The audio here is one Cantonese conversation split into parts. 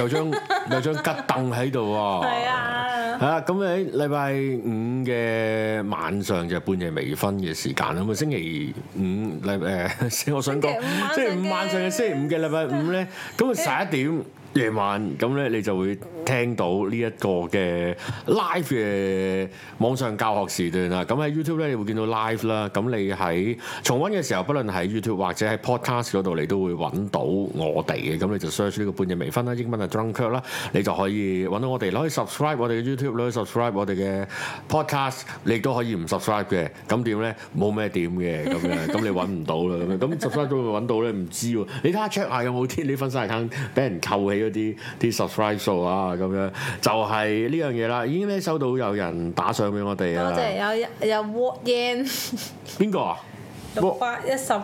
有張吉凳喺度喎。 係啊。 係啊，咁喺禮拜五嘅晚上就係半夜微醺嘅時間啦。咁啊星期五我想講星期五晚上嘅星期五嘅禮拜五咧，咁啊11點。夜晚咁咧，你就會聽到呢一個嘅 live 嘅網上教學時段啦。咁喺 YouTube 咧，你會見到 live 啦。咁你喺重溫嘅時候，不論喺 YouTube 或者喺 Podcast 嗰度，你都會揾到我哋嘅。咁你就 search 呢個半夜微醺啦，英文係 Drunkirk 啦，你就可以揾到我哋。你可以 subscribe 我哋嘅 YouTube，你可以 subscribe 我哋嘅 Podcast， 你亦都可以唔 subscribe 嘅。咁點咧？冇咩點嘅咁樣，咁你揾唔到啦。咁樣咁 subscribe 咗會揾到咧？唔知喎。你睇下 check 下有冇啲你分散 account 俾人扣起。啲 subscribe 數啊，咁樣就係呢樣嘢啦。已經咧收到有人打賞俾我哋啊！ 多謝有 What Yen 邊個啊 ？610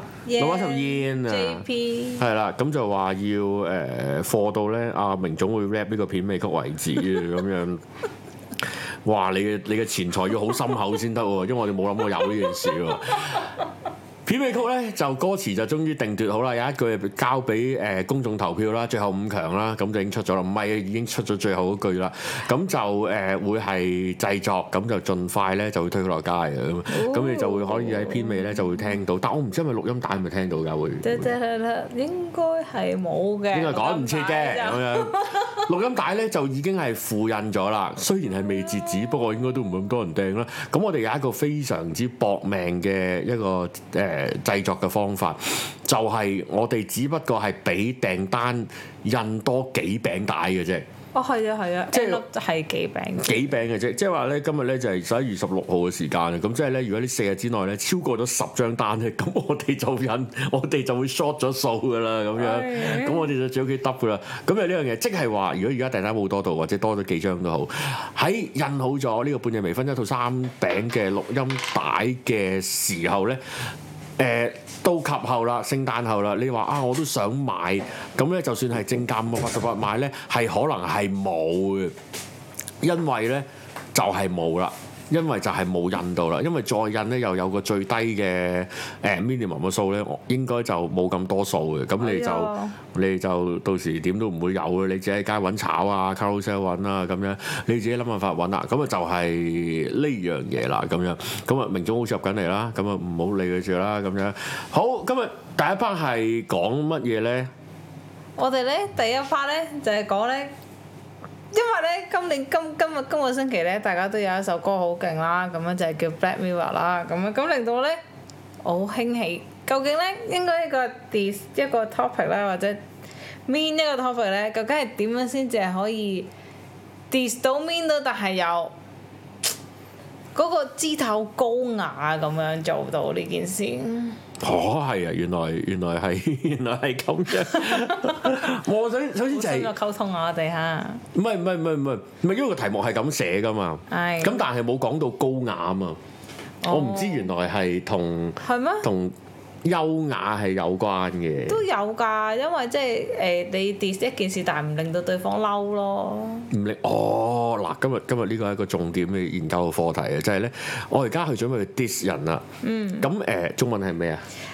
yen 啊 JP 係啦，咁就話要貨到咧阿明總會 rap 呢個片尾曲為止咁樣。哇！你嘅錢財要好深厚先得喎，因為我哋冇諗過有呢件事喎。片尾曲咧就歌詞就終於定奪好啦，有一句交俾公眾投票啦，最後5強啦，咁就已經出咗啦，唔係已經出咗最後嗰句啦，咁就會係製作，咁就盡快咧就會推佢落街嘅，咁你就會可以喺片尾咧就會聽到，但我唔知係咪錄音帶係咪聽到㗎會？ 應該係冇嘅， 應該趕唔切嘅咁樣。錄音帶咧就已經係附印咗啦，雖然係未截止，不過應該都唔會咁多人訂啦。咁我哋有一個非常之搏命嘅一個製作嘅方法，就係我哋只不過係比訂單印多幾餅帶嘅啫。 哦，係啊，即係幾餅嘅啫。即係話咧，今日咧就係11月16號嘅時間啊。咁即係咧，如果呢4日之內咧超過咗10張單咧，咁我哋就會 short 咗數㗎啦。咁樣，咁我哋就最屋企得㗎啦。咁啊呢樣嘢，即係話，如果而家訂單冇多到，或者多咗幾張都好，喺印好咗呢個半夜微醺一套3餅嘅錄音帶嘅時候咧。到及後啦，聖誕後啦，你話啊，我都想買，咁咧就算係正價588買咧，係可能係冇嘅，因為咧就係冇啦。因為就係冇印到啦，因為再印咧又有個最低嘅minimum 嘅數咧，應該就冇咁多數嘅，咁你就到時點都唔會有嘅，你自己喺街揾炒啊 Carousell 揾啊咁樣，你自己諗辦法揾啦，咁啊就係呢樣嘢啦咁樣，咁啊明總好似入緊嚟啦，咁啊唔好理佢住啦咁樣。好，今日第一 part 係講乜嘢咧？ 我哋咧第一 part 咧就係講咧。因為咧，今個星期咧，大家都有一首歌好勁啦，咁樣就係叫 Black Mirror 啦，咁令到咧我好興起。究竟咧應該一個 topic 咧，或者 mean 一個 topic 咧，究竟係點樣先至係可以 diss 到 mean 到，但係又嗰個姿態好高雅咁樣做到呢件事？ 哦，係啊，原來係咁樣。我首先就係溝通啊，我哋嚇。 唔係，因為個題目係咁寫噶嘛。係。咁但係冇講到高雅啊嘛。我唔知原來係同優雅係有關嘅。都有㗎，因為即係你 diss 一件事，但係唔令到對方嬲咯。唔令嗱，今日呢個係一個重點嘅研究嘅課題啊，就係咧，我而家去準備去 diss 人啦。咁中文係咩啊？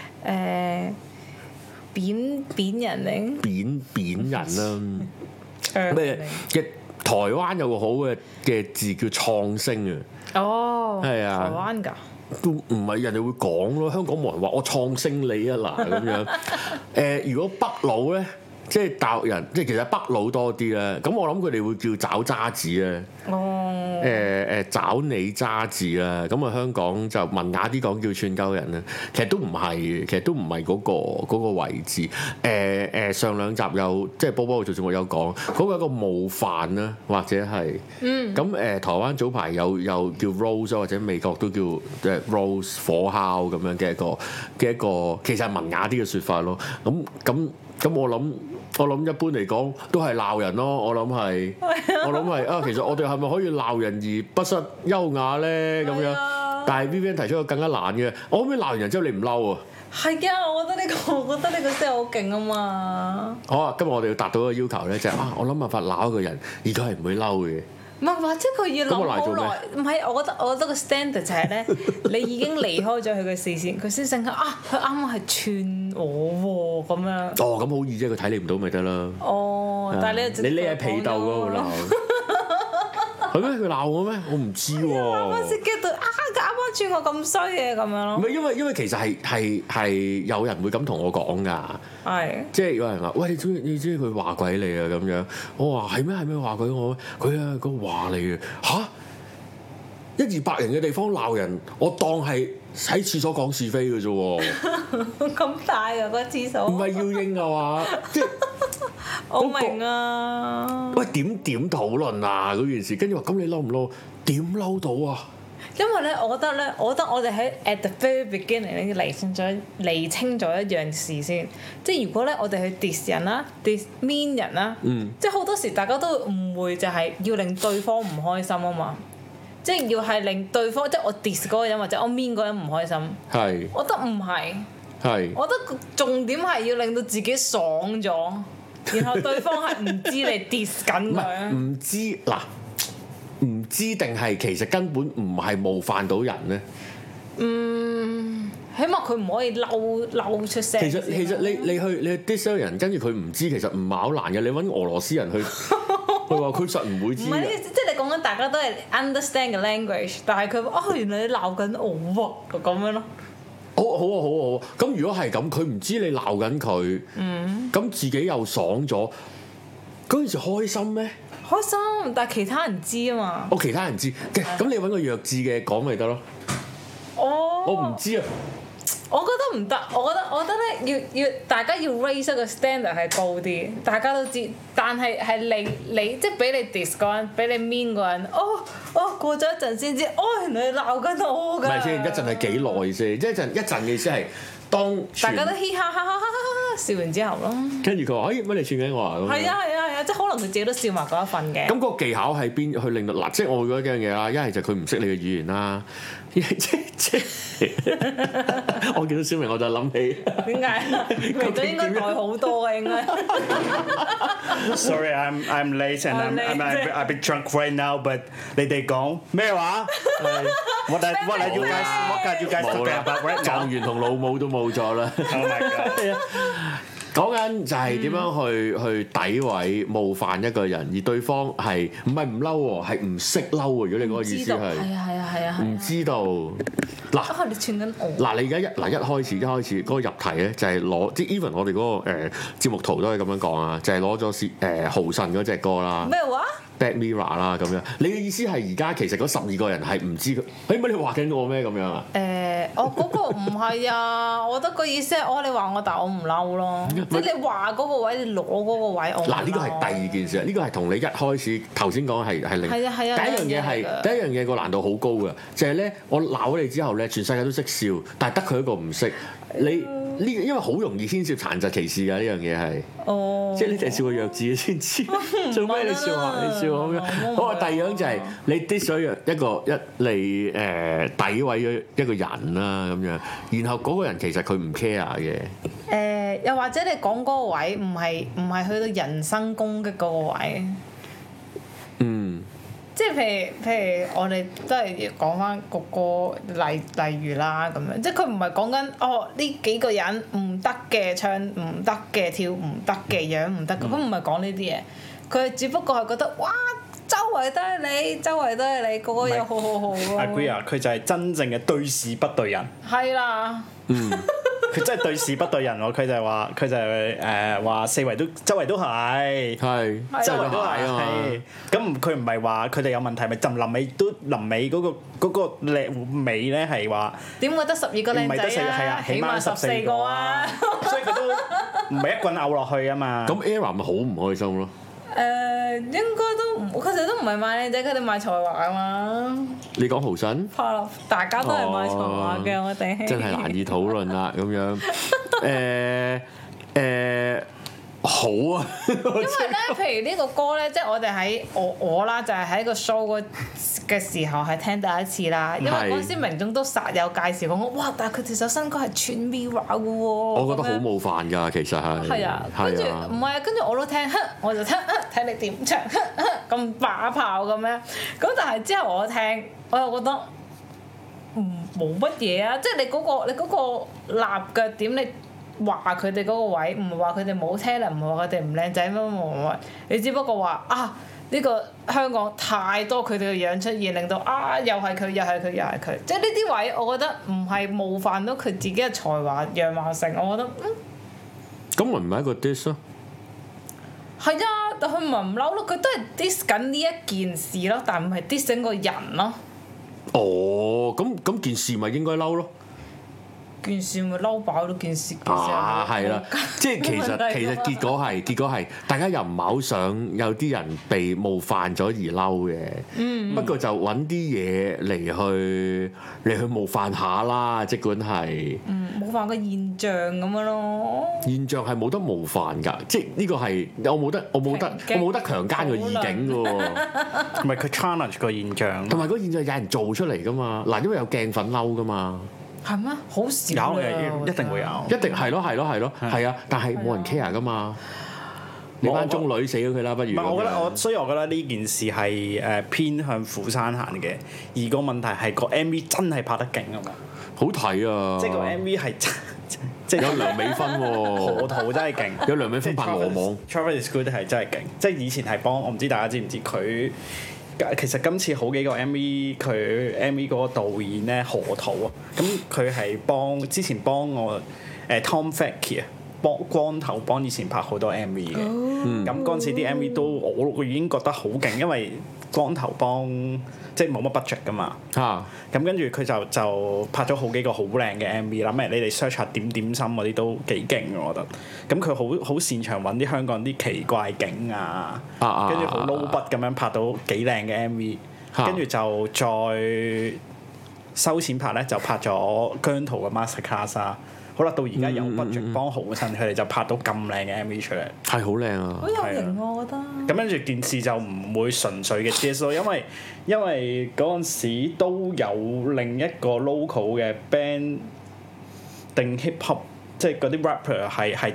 扁人定？扁人啦。咩嘅？台灣有個好嘅字叫創星啊。哦。係啊。台灣㗎。都唔係人哋會講咯，香港冇人話我創星你啊嗱咁樣。如果北佬咧，即係大陸人，即係其實北佬多啲啦。咁我諗佢哋會叫找渣子啊。找你渣字啦。咁啊香港就文雅啲講叫串鳩人啦。其實都唔係，嗰個位置。上兩集有即係波波做節目有講，嗰個一個冒犯啦，或者係。咁台灣早排有叫 Rose 或者美國都叫Rose 火烤咁樣嘅一個，其實係文雅啲嘅説法咯。咁我諗一般嚟講都係鬧人咯。我諗係啊，其實我哋係咪可以鬧人而不失優雅咧？咁樣，但係 Vivian 提出個更加難嘅，我可唔可以鬧完人之後你唔嬲啊？係啊，我覺得呢個真係好勁啊嘛！好啊，今日我哋要達到一個要求咧，就係我諗辦法鬧一個人，而佢係唔會嬲嘅。 唔係，或者佢要諗好耐。唔係，我覺得個 standard 就係咧，你已經離開咗佢嘅視線，佢先醒起啊，佢啱啱係串我喎咁樣。 哦，咁好易啫，佢睇你唔到咪得啦。 哦，但係你匿喺被竇嗰度鬧。係咩？佢鬧我咩？我唔知喎。 啱啱先 get 到啊！佢啱啱串我咁衰嘅咁樣咯。 唔係因為其實係有人會咁同我講㗎。係。即係有人話：喂，你知佢話鬼你啊咁樣。我話係咩話鬼我？佢啊個話你啊嚇！100-200人嘅地方鬧人，我當係喺廁所講是非嘅啫喎。 咁大㗎個廁所？唔係要應啊嘛，即係。 我明啊！ 喂，點討論啊嗰件事？跟住話咁你嬲唔嬲？點嬲到啊？ 因為咧，我覺得我哋喺 at the very beginning 咧釐清咗一樣事先。即係如果咧我哋去 diss 人啦，diss mean 人啦，即係好多時大家都會誤會就係要令對方唔開心啊嘛。即係要係令對方，即係我 diss 嗰個人或者我 mean 嗰個人唔開心。係。我覺得唔係。係。我覺得重點係要令到自己爽咗。然後對方係唔知你 diss 緊佢，唔知嗱， 唔知定係其實根本唔係冒犯到人咧。 起碼佢唔可以嬲出聲。 其實你去 diss 人，跟住佢唔知，其實唔係好難嘅。你揾俄羅斯人去，佢話佢實唔會知。唔係， 即係你講緊大家都係 understand 嘅 language，但係佢原來你鬧緊我喎，咁樣咯。 好啊！咁如果係咁，佢唔知你鬧緊佢，咁自己又爽咗，嗰陣時開心咩？ 開心，但係其他人知啊嘛。 其他人知，咁你揾個弱智嘅講咪得咯。我唔知啊。 我覺得唔得，我覺得咧要大家要 raise 個 standard 係高啲，大家都知，但係你即係俾你 diss 嗰人，俾你 mean 嗰人，過咗一陣先知，原來你鬧緊我㗎。唔係先， 一陣係幾耐先？即係一陣嘅意思係當大家都嘻哈哈笑完之後咯。 跟住佢話：乜你串緊我啊？咁係啊，即係可能佢自己都笑埋嗰一份嘅。 咁個技巧係邊去令到嗱？即係我會覺得幾樣嘢啦，一係就佢唔識你嘅語言啦。即我見到小明我就諗起點解？佢都應該耐好多嘅應該。 Sorry, I'm late and I'm a bit drunk right now. But 你哋講咩話？What are you guys talking about right now？ 狀元同老母都冇咗啦。 Oh my god！ 講緊就係點樣去詆毀冒犯一個人，而對方係唔係唔嬲喎，係唔識嬲喎。如果你嗰個意思係， 係啊， 唔知道嗱， 你串緊我嗱，你而家一開始嗰個入題咧，就係攞即係 even 我哋嗰個節目圖都係咁樣講啊，就係攞咗豪神嗰隻歌啦。 咩話 ？Black Mirror 啦咁樣，你嘅意思係而家其實嗰12個人係唔知佢，乜你話緊我咩咁樣啊？ 嗰個唔係啊，我覺得個意思係你話我，但我唔嬲咯。即係你話嗰個位，你攞嗰個位，我嗱呢個係第二件事，呢個係同你一開始頭先講係另。係啊。第一樣嘢個難度好高嘅，就係咧我鬧咗你之後咧，全世界都識笑，但係得佢一個唔識你。因為好容易牽涉殘疾歧視㗎，呢樣嘢係，即係你哋笑個弱智先知，做咩你笑下你笑咁樣？好啊，第二樣就係你 diss 咗你詆毀咗一個人啦咁樣，然後嗰個人其實佢唔 care 嘅。 又或者你講嗰個位唔係去到人身攻擊嗰個位。即係譬如我哋都係講翻個例如啦咁樣，即係佢唔係講緊呢幾個人唔得嘅，唱唔得嘅，跳唔得嘅，樣唔得嘅，佢唔係講呢啲嘢，佢只不過係覺得哇，周圍都係你，個個又好好好。 Agree 啊，佢就係真正嘅對事不對人。 係啦。 佢真係對事不對人喎，佢就係話四圍都周圍都係，周圍都係啊。咁佢唔係話佢哋有問題，咪就臨尾嗰個靚尾咧係話點會得12個靚仔啊？起碼14個啊！所以佢都唔係一棍拗落去啊嘛。 咁 Era 咪好唔開心咯？ 應該都唔，佢哋都唔係賣靚仔，佢哋賣才華啊嘛。 你講豪神？ 大家都係賣才華嘅，我哋。 真係難以討論啦，咁樣。 好啊， 因為咧，譬如呢個歌咧，即係我哋喺我啦，就係喺個 show 嘅時候係聽第一次啦。因為嗰陣時明總都實有介紹過我，哇！但係佢哋首新歌係串 Mirror 嘅喎。我覺得好冒犯㗎，其實係。係啊， 跟住唔係啊，跟住我都聽，我就聽睇你點唱，咁把炮咁樣。咁但係之後我聽，我又覺得冇乜嘢啊，即係你嗰個立腳點你。話佢哋嗰個位，唔係話佢哋冇聽啦，唔係話佢哋唔靚仔乜，你只不過話啊呢個香港太多佢哋嘅樣出現，令到啊又係佢，又係佢，又係佢，即係呢啲位，我覺得唔係冒犯到佢自己嘅才華樣貌性，我覺得咁咪唔係一個 diss 咯？ 係啊，但佢唔係唔嬲咯，佢都係 diss 緊呢一件事咯，但唔係 diss 整個人咯。 哦，咁件事咪應該嬲咯？ 件事咪嬲飽咗件事。 係啦，即係其實結果係大家又唔係好想有啲人被冒犯咗而嬲嘅。不過就揾啲嘢嚟去冒犯下啦，即管係。 冒犯個現象咁樣咯。現象係冇得冒犯㗎，即係呢個係我冇得強姦個意境㗎喎。 唔係佢 challenge 個現象。 同埋個現象有人做出嚟㗎嘛，嗱，因為有鏡粉嬲㗎嘛。 係咩？好少有一定會有。 一定係咯，係啊！但係冇人 care 噶嘛。你班中女死咗佢啦，不如。唔係，所以我覺得呢件事係偏向釜山行嘅，而個問題係個 MV 真係拍得勁啊嘛。 好睇啊！ 即係個 MV 係即係有梁美芬喎， 河圖真係勁。 有梁美芬拍羅網。 Travis Scott 係真係勁，即係以前係幫我唔知大家知唔知佢。其實今次好幾個 MV， 佢 MV 嗰個導演咧河圖啊，咁佢係之前幫我Tom Fakie 啊，光頭幫以前拍好多 MV 嘅，咁嗰陣時啲 MV 都我已經覺得好勁，因為光頭幫即係冇乜 budget 噶嘛，咁跟住佢就拍咗好幾個好靚嘅 MV 啦，咩你哋 search 下點點心嗰啲都幾勁我覺得，咁佢好擅長揾啲香港啲奇怪景啊，跟住好 low budget 咁樣拍到幾靚嘅 MV，跟住就再收錢拍咧就拍咗姜濤嘅 Masterclass 啊。好啦，到而家有 budget 幫豪信，佢哋就拍到咁靚嘅 MV 出嚟， 係好靚啊！ 好有型我覺得。 咁跟住件事就唔會純粹嘅 diss 咯，因為嗰陣時都有另一個 local 嘅 band 定 hip hop， 即係嗰啲 rapper 係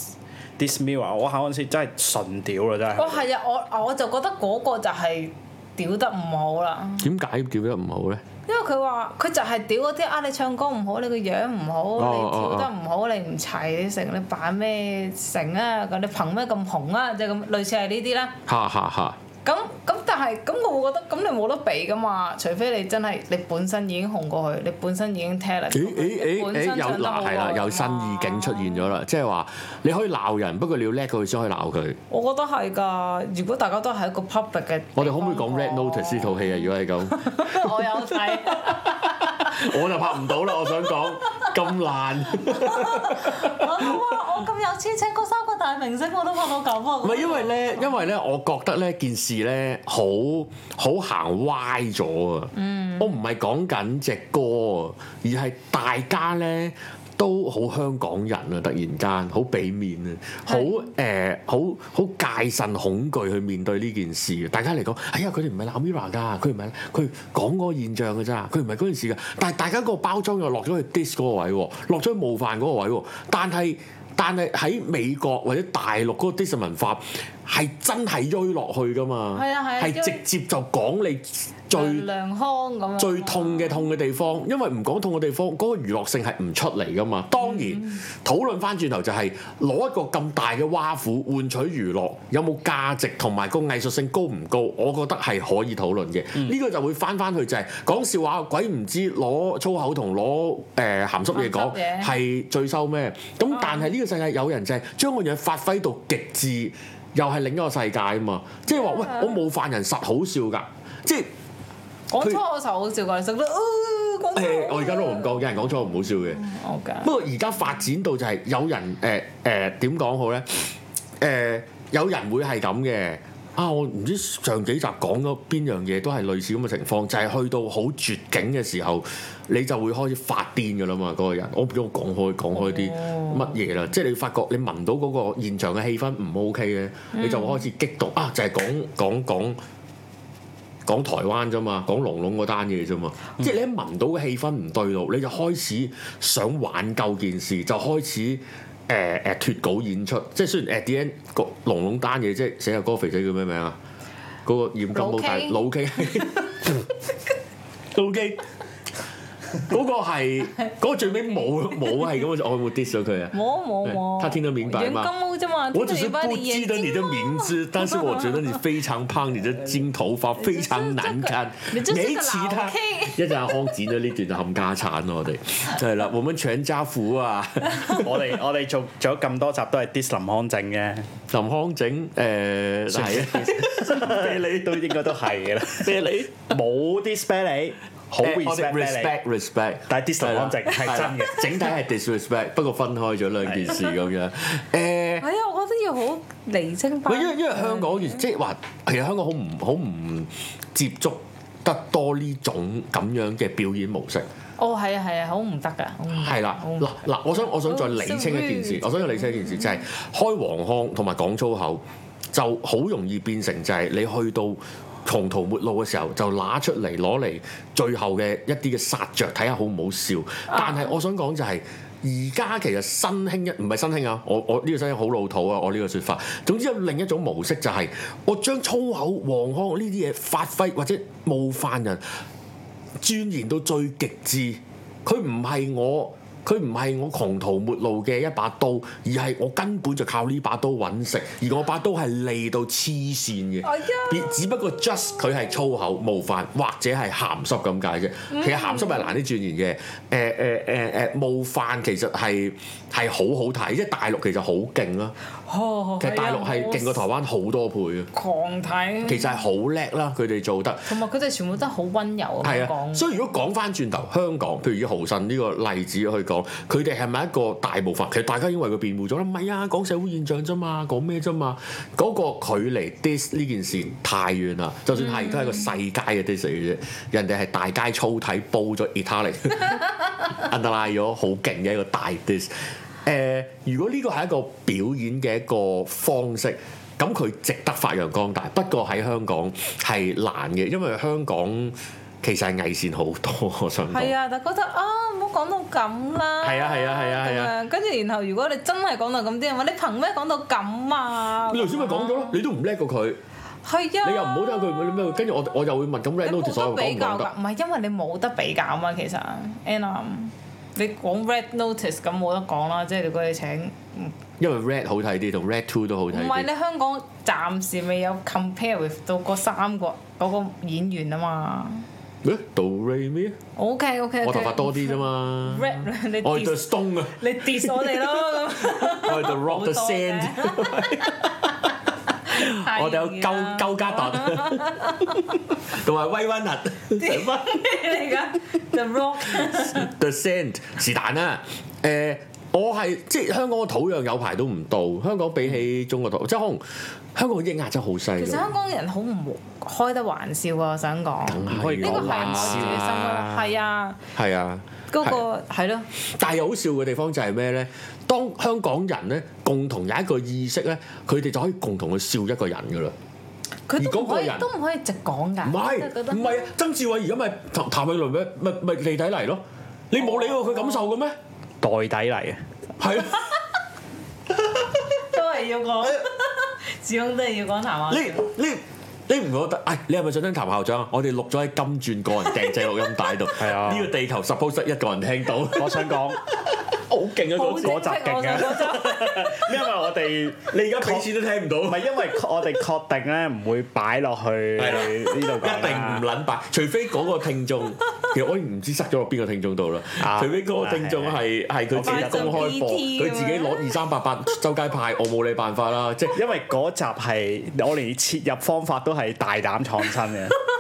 diss Mirror， 我嗰陣時真係純屌啦真係。 係啊，我就覺得嗰個就係屌得唔好啦。 點解屌得唔好咧？ 因為佢話佢就係屌嗰啲你唱歌唔好，你個樣唔好，你跳得唔好，你唔齊，你成你扮咩成啊？咁你憑咩咁紅啊？即係咁類似係呢啲啦。咁但係我會覺得咁你冇得比噶嘛，除非你真係你本身已經紅過佢，你本身已經 talent。 有新意境出現咗啦，即係話你可以鬧人，不過你要叻過佢先可以鬧佢。 我覺得係㗎，如果大家都係一個 public 嘅，我哋可唔可以講 Red Notice 呢套戲啊？如果係咁， 我有睇， 我就拍唔到啦。我想講咁爛。 我咁有錢請嗰3個大明星，我都拍到咁啊！ 唔係因為咧，我覺得咧件事咧好行歪咗啊！我唔係講緊隻歌啊，而係大家咧都好香港人啊！突然間好俾面啊，好戒慎恐懼去面對呢件事。大家嚟講，哎呀佢哋唔係鬧 Mirror 㗎，佢講嗰個現象㗎咋，佢唔係嗰件事㗎。但係大家個包裝又落咗去 diss 嗰個位喎，落咗去冒犯嗰個位喎。但係喺美國或者大陸嗰個 diss 文化係真係追落去㗎嘛，係直接就講你最痛嘅地方，因為唔講痛嘅地方，嗰個娛樂性係唔出嚟㗎嘛。當然討論翻轉頭就係攞一個咁大嘅挖苦換取娛樂，有冇價值同埋個藝術性高唔高？我覺得係可以討論嘅。呢個就會翻去就係講笑話，鬼唔知攞粗口同攞鹹濕嘢講係最收咩？咁但係呢個世界有人就係將個嘢發揮到極致，又係另一個世界啊嘛！即係話喂，我冒犯人實好笑㗎，即係。 講粗口好笑㗎，你識得我而家都唔講，有人講粗口唔好笑嘅。不過而家發展到就係有人點講好咧？有人會係咁嘅， 我唔知上幾集講咗邊樣嘢都係類似咁嘅情況，就係去到好絕境嘅時候，你就會開始發癲㗎啦嘛，嗰個人。我唔知我講開啲乜嘢啦，即係你發覺你聞到嗰個現場嘅氣氛唔 OK 嘅，你就會開始激動就係講台灣啫嘛，講龍龍嗰單嘢啫嘛，即係你一聞到嘅氣氛唔對路，你就開始想挽救件事，就開始脫稿演出。即係雖然 at the end 個龍龍單嘢，即係寫下嗰個肥仔叫咩名啊？嗰個染金毛大老 K，老 K。嗰個係嗰個最尾冇係咁，我冇 diss 咗佢啊！ 冇， 他聽得明白嘛？ 金毛啫嘛， 我只是不記得你的名字，但是我覺得你非常胖，你的金頭髮非常難看。你其他一陣阿康剪咗呢段就冚家產咯，我哋係啦，我們全家福啊！ 我哋做咗咁多集都係 diss 林康正嘅， 林康正係啊， 啤梨都應該都係嘅啦，啤梨冇 diss 啤梨。好 respect， 但係 diss 林康正係真嘅， 整體係 disrespect， 不過分開咗兩件事咁樣。 係啊，我覺得要好釐清翻。 因為香港即係話，其實香港好唔接觸得多呢種咁樣嘅表演模式。 係啊，好唔得㗎。 係啦，嗱，我想再釐清一件事，就係開黃腔同埋講粗口就好容易變成就係你去到窮途末路嘅時候，就攞出嚟攞嚟最後嘅一啲嘅殺着，睇下好唔好笑。但係我想講就係而家其實新興唔係新興啊！我呢個新興好老土啊！我呢個説法。總之有另一種模式就係我將粗口、黃腔呢啲嘢發揮或者冒犯人，鑽研到最極致。佢唔係我窮途末路嘅一把刀，而係我根本就靠呢把刀揾食，而我把刀係利到黐線嘅。只不過 just 佢係粗口冒犯或者係鹹濕咁解啫。其實鹹濕係難啲鑽研嘅。冒犯其實係好好睇，即係大陸其實好勁啦。其實大陸係勁過台灣好多倍啊！ 狂睇。 其實係好叻啦，佢哋做得。同埋佢哋全部都好溫柔咁講。 所以如果講翻轉頭，香港譬如以豪信呢個例子去講，佢哋係咪一個大部分？其實大家已經為佢辯護咗啦，唔係啊，講社會現象啫嘛，講咩啫嘛？嗰個距離 diss 呢件事太遠啦。就算係都係個世界嘅 diss 嚟嘅啫，人哋係大街粗體煲咗 Italian underline 咗好勁嘅一個大 diss。如果呢個係一個表演嘅一個方式，咁佢值得發揚光大。不過喺香港係難嘅，因為香港其實係偽善好多。我想講係啊，但覺得唔好講到咁啦。 係啊。 跟住然後，如果你真係講到咁啲人話，你憑咩講到咁啊？ 你頭先咪講咗咯，你都唔叻過佢。 係啊。你又唔好聽佢咩？跟住我又會問咁 Red Notice 所有講唔講得？ 唔係因為你冇得比較嘛，其實 你講 Red Notice 咁冇得講啦，即係如果你請， 因為 Red 好睇啲，同 Red 2都好睇啲。 唔係你香港暫時未有 compare with 到嗰三個嗰個演員啊嘛。 Do Re Mi OK， 我頭髮多啲啫嘛。 Red 你我係 The Stone 啊。 你 diss 我哋咯咁。 我係 The Rock The Sand。我哋有鳩加特，同埋威溫特。咩嚟㗎 ？The Rock The Sand 是但啦。我係即係香港嘅土壤有排都唔到，香港比起中國土，即係可能香港嘅抑壓真係好犀利。 其實香港人好唔開得玩笑啊！我想講， 唔可以講玩笑啊！係啊， 係啊， 嗰個係咯。 但係好笑嘅地方就係咩咧？當香港人咧共同有一個意識咧，佢哋就可以共同去笑一個人噶啦。 佢都唔可以直講㗎。 唔係啊！曾志偉而家咪譚詠麟咪離體嚟咯？你冇理過佢感受嘅咩？ 代底嚟嘅。係啊。 都係要講，始終都係要講譚校長。 你唔覺得？你係咪想聽譚校長啊？我哋錄咗喺金鑽個人訂製錄音帶度。係啊。呢個地球 suppose 一個人聽到。我想講。好勁啊！嗰集勁啊！因為我哋你而家俾錢都聽唔到，唔係因為我哋確定咧唔會擺落去呢度，一定唔撚擺，除非嗰個聽眾，其實我唔知塞咗落邊個聽眾度啦。除非嗰個聽眾係佢自己公開播，佢自己攞2388周街派，我冇你辦法啦。即係因為嗰集係我連切入方法都係大膽創新嘅。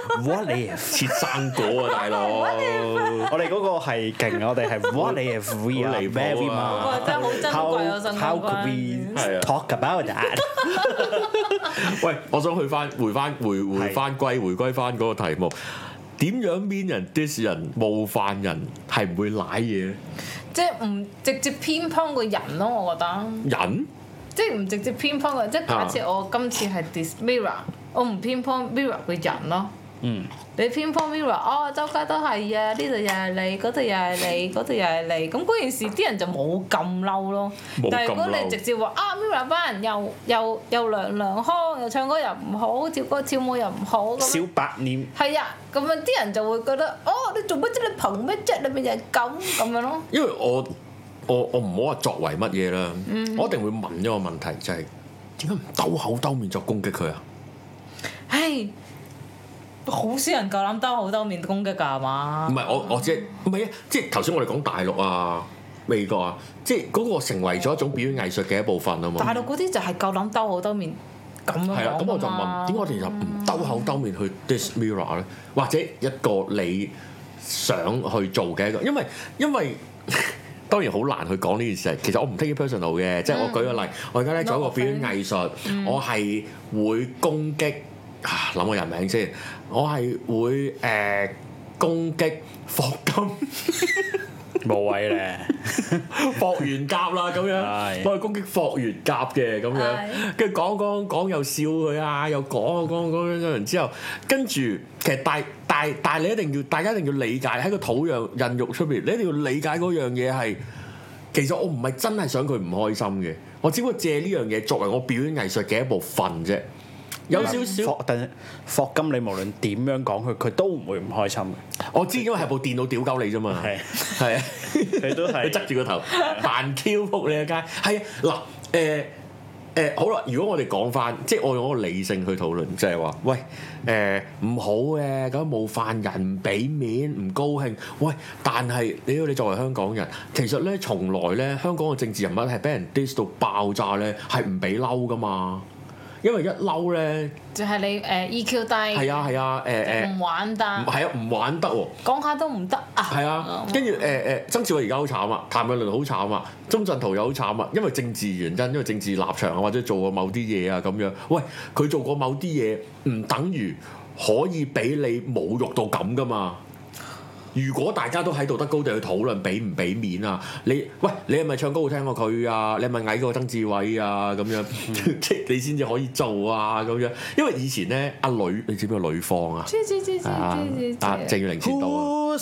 What if 切生果啊，大佬！ 我哋嗰個係勁，我哋係 What if we are very much？ 真係好珍貴啊！新 How could we talk about that？ 喂，我想回歸翻嗰個題目，點樣 mean 人 diss 人冒犯人係唔會舐嘢咧？ 即係唔直接偏幫個人咯，我覺得。人？即係唔直接偏幫個人，即係假設我今次係 diss Mirror，我唔偏幫 Mirror 個人咯。嗯。你偏幫 Mirror，哦，周街都係啊，呢度又係你，嗰度又係你，嗰度又係你，咁嗰件事啲人就冇咁嬲咯。但係如果你直接話啊 Mirror 班人又娘腔，又唱歌又唔好，跳歌跳舞又唔好，咁小白臉。係啊，咁樣啲人就會覺得，哦，你做乜啫？你憑咩啫？你咪就係咁樣咯。 因為我唔好話作為乜嘢啦，我一定會問一個問題，就係點解唔兜口兜面作攻擊佢啊？ 唉。好少人夠膽兜口兜面攻擊㗎係嘛？ 唔係我即係唔係啊！即係頭先我哋講大陸啊、美國啊，即係嗰個成為咗一種表演藝術嘅一部分啊嘛。 大陸嗰啲就係夠膽兜口兜面咁樣講㗎嘛。係啊，咁我就問點解我哋就唔兜口兜面去 diss Mirror 咧？或者一個你想去做嘅一個，因為當然好難去講呢件事。其實我唔 take it personal 嘅，即係我舉個例，我而家咧做一個表演藝術，我係會攻擊。諗個人名先，我係會攻擊霍金， 無謂咧， 霍元甲啦咁樣，我係攻擊霍元甲嘅咁樣，跟住講又笑佢啊，又講完之後，跟住其實但係你大家一定要理解喺個土壤孕育出邊，你一定要理解嗰樣嘢係，其實我唔係真係想佢唔開心嘅，我只不過借呢樣嘢作為我表演藝術嘅一部分啫。有少少， 但霍金你無論點樣講佢都唔會唔開心嘅。 我知，因為係部電腦屌鳩你啫嘛。係啊， 佢都係側住個頭扮 Q 仆你一街。係啊，嗱好啦，如果我哋講翻，即係我用一個理性去討論，即係話，喂唔好嘅咁冒犯人，唔俾面，唔高興。喂，但係你作為香港人，其實咧從來咧香港嘅政治人物係俾人 diss 到爆炸咧，係唔俾嬲噶嘛。因為一嬲咧， 就係你EQ 低， 係啊唔玩得， 係啊唔玩得喎， 講下都唔得啊， 係啊，跟住曾志偉而家好慘啊，譚詠麟好慘啊，鐘鎮濤又好慘啊，因為政治原因，因為政治立場啊，或者做過某啲嘢啊咁樣，喂，佢做過某啲嘢唔等於可以俾你侮辱到咁噶嘛。如果大家都喺道德高地去討論俾唔俾面啊，你係咪唱歌好聽過佢啊？你係咪矮過曾志偉啊？咁樣即係你先至可以做啊咁樣。因為以前咧阿呂，你知唔知個呂方啊？知鄭裕玲先到啊。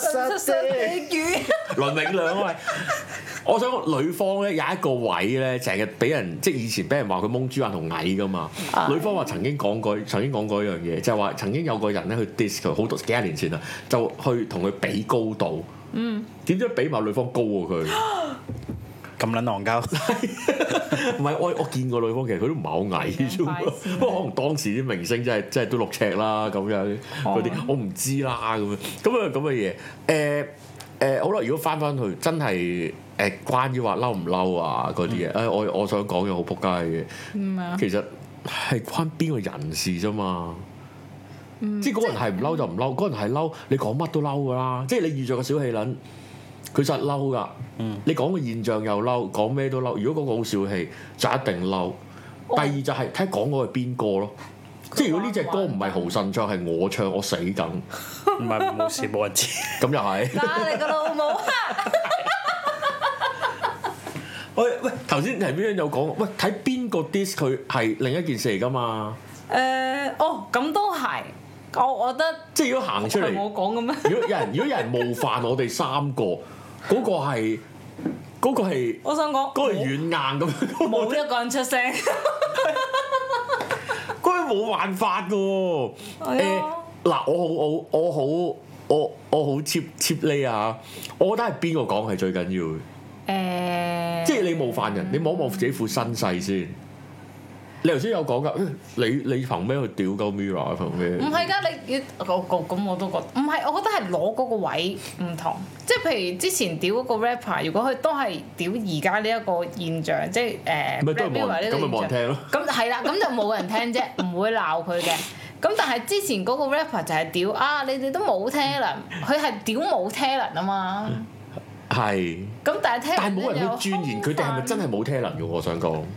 倫永亮啊！我想講呂方咧有一個位咧，成日俾人即係以前俾人話佢蒙豬眼同矮噶嘛。呂方話曾經講過一樣嘢，就係話曾經有個人咧去 diss 佢，好多幾廿年前啦，就去同佢比高度。點知比埋呂方高過佢？ 咁撚戇鳩。 唔係我見過呂方，其實佢都唔係好矮啫嘛。不過可能當時啲明星真係都6尺啦咁樣嗰啲，我唔知啦咁樣咁嘅嘢。好啦，如果翻去真係關於話嬲唔嬲啊嗰啲嘢，我想講嘢好仆街嘅。其實係關邊個人事啫嘛。即係嗰個人係唔嬲就唔嬲，嗰個人係嬲，你講乜都嬲噶啦。即係你遇着個小氣撚，佢實嬲噶。你講個現象又嬲，講咩都嬲。如果嗰個好小氣，就一定嬲。第二就係睇講嗰個係邊個咯。即係如果呢隻歌唔係豪神唱，係我唱，我死梗。 唔係冇事冇人知。 咁又係。 打你個老母！ 喂，頭先係邊樣有講？喂，睇邊個 diss 佢係另一件事嚟㗎嘛？ 咁都係。我覺得即係如果行出嚟， 我講嘅咩？ 如果有人冒犯我哋3個，嗰個係， 我想講嗰個軟硬咁樣， 冇一個人出聲， 嗰個冇辦法嘅喎。嗱，我好 cheap 呢啊！我覺得係邊個講係最緊要嘅。即係你冒犯人，你望一望自己副身世先。你頭先有講㗎，你憑咩去屌鳩 Mirror？憑咩？ 唔係㗎，你咁我都覺得唔係，我覺得係攞嗰個位唔同。即係譬如之前屌嗰個 rapper，如果佢都係屌而家呢一個現象，即係Mirror 呢個現象，咁咪冇人聽咯。咁係啦，咁就冇人聽啫，唔會鬧佢嘅。 咁但係之前嗰個 rapper 就係屌啊！你哋都冇 talent，佢係屌冇 talent 啊嘛。 係。咁但係冇人去鑽研佢哋係咪真係冇 talent 嘅？我想講。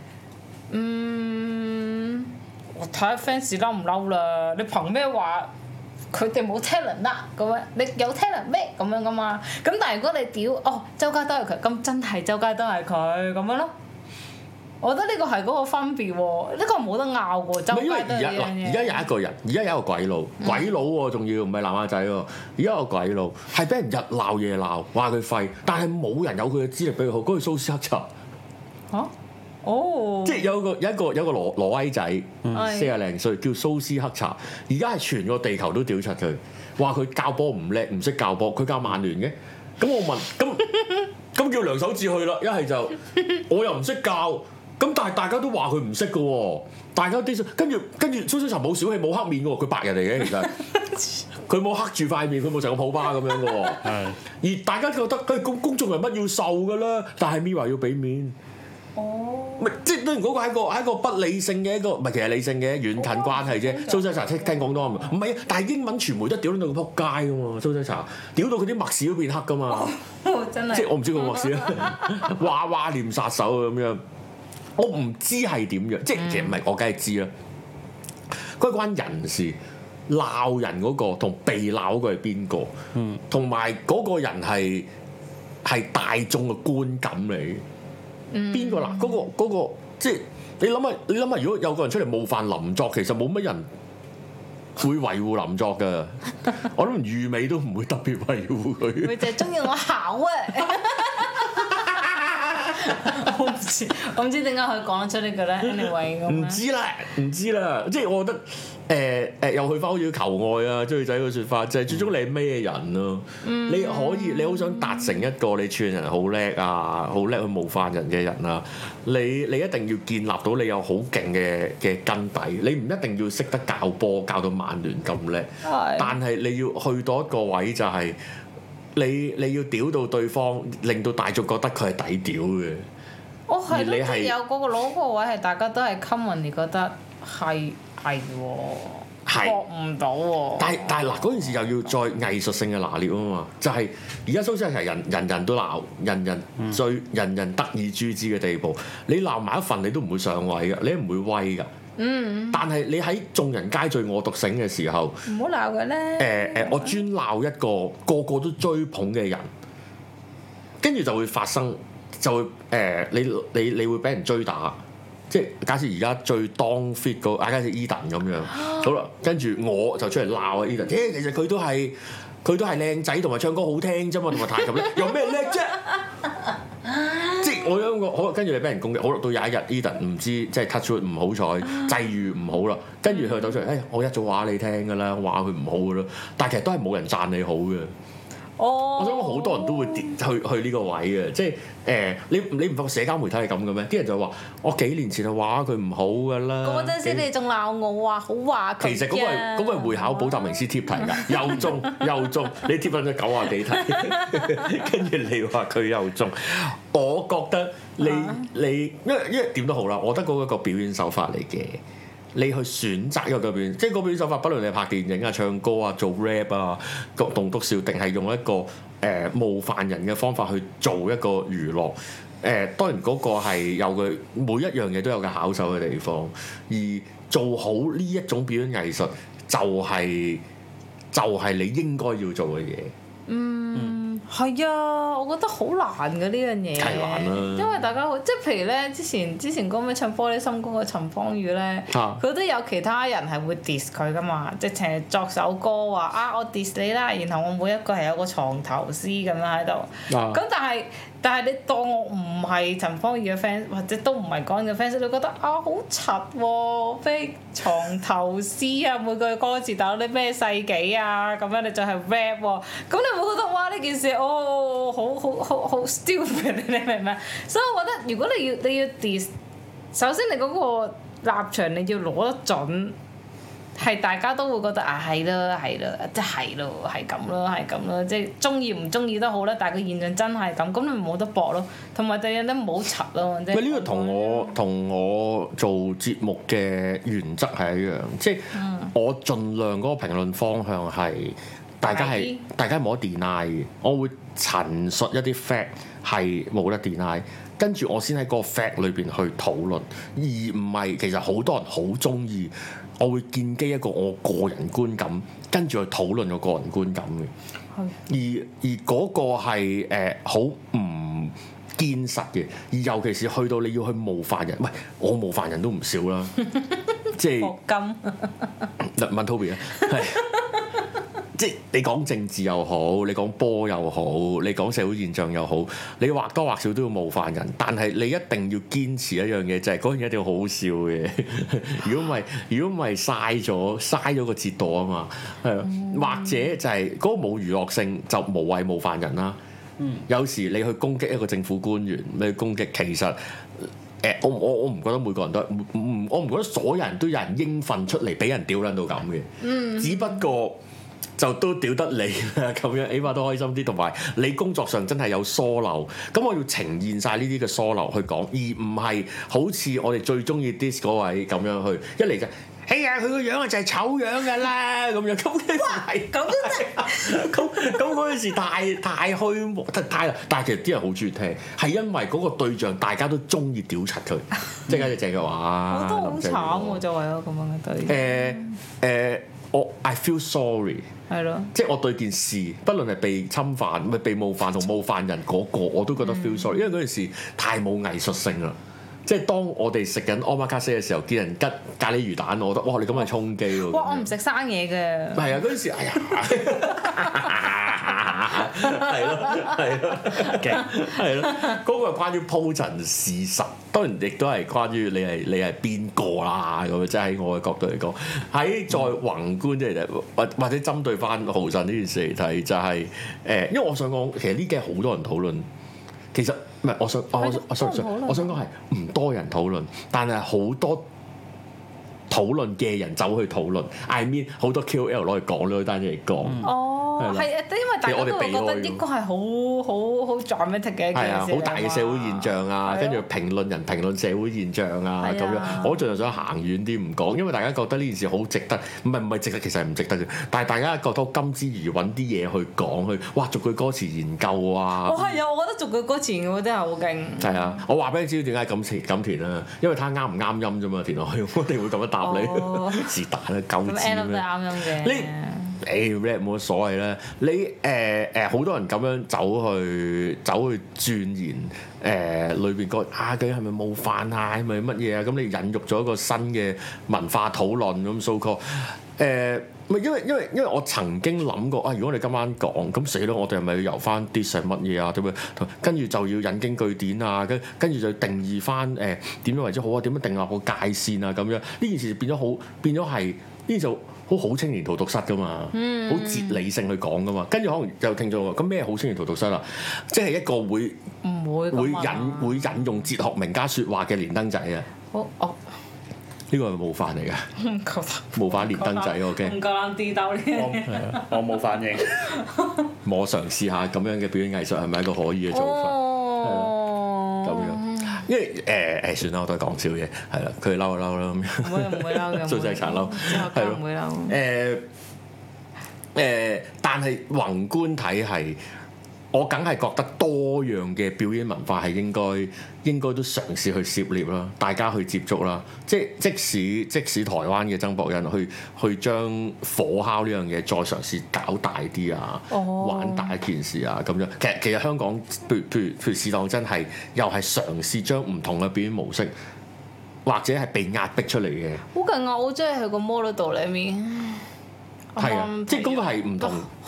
我睇下 fans 嬲唔嬲啦？你憑咩話佢哋冇 talent 啦？咁樣你有 talent 咩？咁樣噶嘛？咁但係如果你屌周街都係佢，咁真係周街都係佢咁樣咯。我覺得呢個係嗰個分別喎，呢個冇得拗喎。周街都係呢樣嘢。而家有一個人，而家有一個鬼佬，鬼佬喎，仲要唔係南亞仔喎。而家有個鬼佬係俾人日鬧夜鬧，話佢廢，但係冇人有佢嘅資歷比佢好。嗰個蘇斯克查嚇。即係有個挪威仔，40零歲叫蘇斯克查，而家係全個地球都屌柒佢，話佢教波唔叻，唔識教波，佢教曼聯嘅。咁我問，咁叫梁守志去啦，一係就我又唔識教，咁但係大家都話佢唔識嘅喎，大家啲跟住蘇斯克查冇小氣冇黑面嘅喎，佢白人嚟嘅其實，佢冇黑住塊面，佢冇成個普巴咁樣嘅喎，而大家覺得佢公眾人物要受嘅啦，但係 Mirror 要俾面。唔係，即係當然嗰個係一個不理性嘅一個，唔係其實理性嘅遠近關係啫。蘇西茶聽廣東話唔係啊，但係英文傳媒都屌到佢撲街噶嘛。蘇西茶屌到佢啲墨屎都變黑噶嘛。 真係。 即係我唔知個墨屎啦，娃念殺手咁樣。我唔知係點樣，即係其實唔係，我梗係知啦。嗰關人事鬧人嗰個同被鬧嗰個係邊個？同埋嗰個人係大眾嘅觀感嚟。邊個嗱？嗰個即係你諗下，如果有個人出嚟冒犯林作，其實冇乜人會維護林作㗎。我諗預美都唔會特別維護佢。 佢就係中意我考啊！我唔知點解佢講得出呢個咧？Anyway 咁。唔知啦，即係我覺得又去翻好似求愛啊，追女仔嘅説法，就係最終你係咩人咯？你好想達成一個你串人好叻啊，好叻去冒犯人嘅人啊，你一定要建立到你有好勁嘅根底，你唔一定要識得教波教到曼聯咁叻，但係你要去到一個位就係你要屌到對方，令到大眾覺得佢係抵屌嘅。係咯，即係有嗰個攞嗰個位係大家都係 common，你覺得係喎，學唔到喎。但係嗱，嗰件事又要再藝術性嘅拿捏啊嘛，就係而家蘇西係人人都鬧，人人得以誅之嘅地步。你鬧埋一份，你都唔會上位㗎，你唔會威㗎。但係你喺眾人皆醉我獨醒嘅時候， 唔好鬧嘅咧。 我專鬧一個個都追捧嘅人，跟住就會發生。就會你會俾人追打，即係假設而家最當 fit 個，假設 Eden 咁樣，好啦，跟住我就出嚟鬧啊 Eden，其實佢都係靚仔同埋唱歌好聽啫嘛，同埋彈琴叻，有咩叻啫？即係我有個好，跟住你俾人攻擊，好啦，到有一日 Eden 唔知即係 touch wood 唔好彩，際遇唔好啦，跟住佢走出嚟，我一早話你聽㗎啦，話佢唔好㗎啦，但係其實都係冇人讚你好嘅。我想講好多人都會去呢個位嘅，即係你唔發覺社交媒體係咁嘅咩？啲人就話我幾年前就話佢唔好㗎啦。 嗰陣時你仲鬧我話好話佢。 其實嗰個係會考補習名師貼題㗎，又中，你貼翻咗90幾題，跟住你話佢又中，我覺得你因為點都好啦，我覺得嗰個表演手法嚟嘅。你去選擇一個表演，即係個表演手法，不論你係拍電影啊、唱歌啊、做 rap 啊、棟篤笑，定係用一個冒犯人嘅方法去做一個娛樂。當然嗰個係有佢每一樣嘢都有個巧手嘅地方，而做好呢一種表演藝術，就係你應該要做嘅嘢。 係啊，我覺得好難嘅呢樣嘢， 係難啦。 因為大家好，即係譬如咧，之前嗰個咩唱玻璃心歌嘅陳芳語咧，佢都有其他人係會 diss 佢噶嘛，直情係作首歌話我 diss 你啦，然後我每一個係有個藏頭詩咁樣喺度。咁但係你當我唔係陳芳語嘅 fans，或者都唔係講嘅 fans，你覺得好柒喎，咩藏頭詩啊，每句歌詞打到啲咩世紀啊，咁樣你就係 rap 喎，咁你會覺得哇呢件事好 stupid， 你明唔明？所以我覺得如果你要 diss， 首先你嗰個立場你要攞得準。係大家都會覺得係咯，即係咯，係咁咯，即係中意唔中意都好啦。但係個現象真係咁，咁你冇得搏咯。同埋第二咧，唔好柒咯。 呢個同我做節目嘅原則係一樣，即係我盡量嗰個評論方向係大家冇得 deny 嘅，我會陳述一啲 fact 係冇得 deny，跟住我先喺個 fact 裏邊去討論，而唔係其實好多人好鍾意，我會建基一個我個人觀感，跟住去討論我個人觀感嘅。而嗰個係好唔堅實嘅，而尤其是去到你要去冒犯人，喂，我冒犯人都唔少啦，即係霍金問 Toby 啊，係即係你講政治又好，你講波又好，你講社會現象又好，你或多或少都要冒犯人，但係你一定要堅持一樣嘢，就係嗰樣嘢一定要好好笑嘅。如果唔係嘥咗個折墮啊嘛，係啊，或者就係嗰個冇娛樂性就無謂冒犯人啦。有時你去攻擊一個政府官員，你去攻擊其實我唔覺得每個人都我唔覺得所有人都有人應份出嚟俾人屌撚到咁嘅，只不過就都屌得你啦咁樣，起碼都開心啲，同埋你工作上真係有疏漏，咁我要呈現晒呢啲嘅疏漏去講，而唔係好似我哋最中意 diss 嗰位咁樣去一嚟就。哎呀，佢個樣啊就係醜樣㗎啦，咁樣咁嘅係咁咁嗰陣時太虛太，但係其實啲人好中意聽，係因為嗰個對象大家都中意屌柒佢，即係就鄭嘅話。我都好慘喎，就為咗咁樣嘅對。我 I feel sorry。係咯。即係我對件事，不論係被侵犯、被冒犯同冒犯人嗰個，我都覺得 feel sorry，因為嗰件事太冇藝術性啦。即係當我哋食緊 omakase 嘅時候，見人吉咖喱魚蛋，我覺得哇！你咁係充飢喎。哇！我唔食生嘢嘅。係啊，嗰陣時，哎呀，係咯，係咯，嗰個係關於鋪陳事實，當然亦都係關於你係邊個啦咁樣。即係喺我嘅角度嚟講，喺再宏觀啲嚟睇，或者針對翻豪神呢件事嚟睇，就係因為我想講，其實呢幾日好多人討論，其實。唔係，我想講係唔多人討論，但係好多討論嘅人走去討論。I mean 好多 KOL 攞嚟講呢單嘢嚟講。係啊，因為大家都覺得應該係好 dramatic 嘅一件事。係啊，好大嘅社會現象啊，跟住評論人評論社會現象啊咁樣。我盡量想行遠啲唔講，因為大家覺得呢件事好值得，唔係值得，其實係唔值得嘅。但係大家覺得金之餘揾啲嘢去講，去哇逐句歌詞研究啊。係啊，我覺得逐句歌詞研究真係好勁。係啊，我話俾你知點解咁填啦，因為睇下啱唔啱音啫嘛，填落去我哋會咁樣答你。是但啦，夠字咩？咁 end up 都係啱音嘅。rap 冇乜所謂啦，你好多人咁樣走去鑽研裏邊個究竟係咪冒犯啊，係咪乜嘢啊？咁你引入咗一個新嘅文化討論咁 so call 因為我曾經諗過啊，如果我哋今晚講咁死咯，我哋係咪要由翻啲係乜嘢啊？點樣跟住就要引經據典啊，跟住就定義翻點樣為之好啊？點樣定立個界線啊？咁樣呢件事變咗係呢就。好青年荼毒室噶嘛，好哲理性去講噶嘛，跟住可能就聽咗話，咁咩好青年荼毒室啊？即係一個會引用哲學名家説話嘅連登仔啊！呢個係冒犯嚟㗎，冒犯連登仔我驚。唔夠膽啲兜呢？我冇反應。我嘗試下咁樣嘅表演藝術係咪一個可以嘅做法？咁樣。因為算啦，我都係講笑嘢，係啦，佢嬲就嬲啦咁樣，唔會嬲嘅，做晒殘嬲，係咯，唔會嬲。但係宏觀睇係，我梗係覺得多樣嘅表演文化係應該都嘗試去涉獵啦，大家去接觸啦。即使台灣嘅曾博恩去將火烤呢樣嘢再嘗試搞大啲啊，玩大一件事啊咁樣。其實香港譬如試當真係又係嘗試將唔同嘅表演模式，或者係被壓迫出嚟嘅。好勁啊！我真係喺個 model 裏面。係啊，即係嗰個係唔同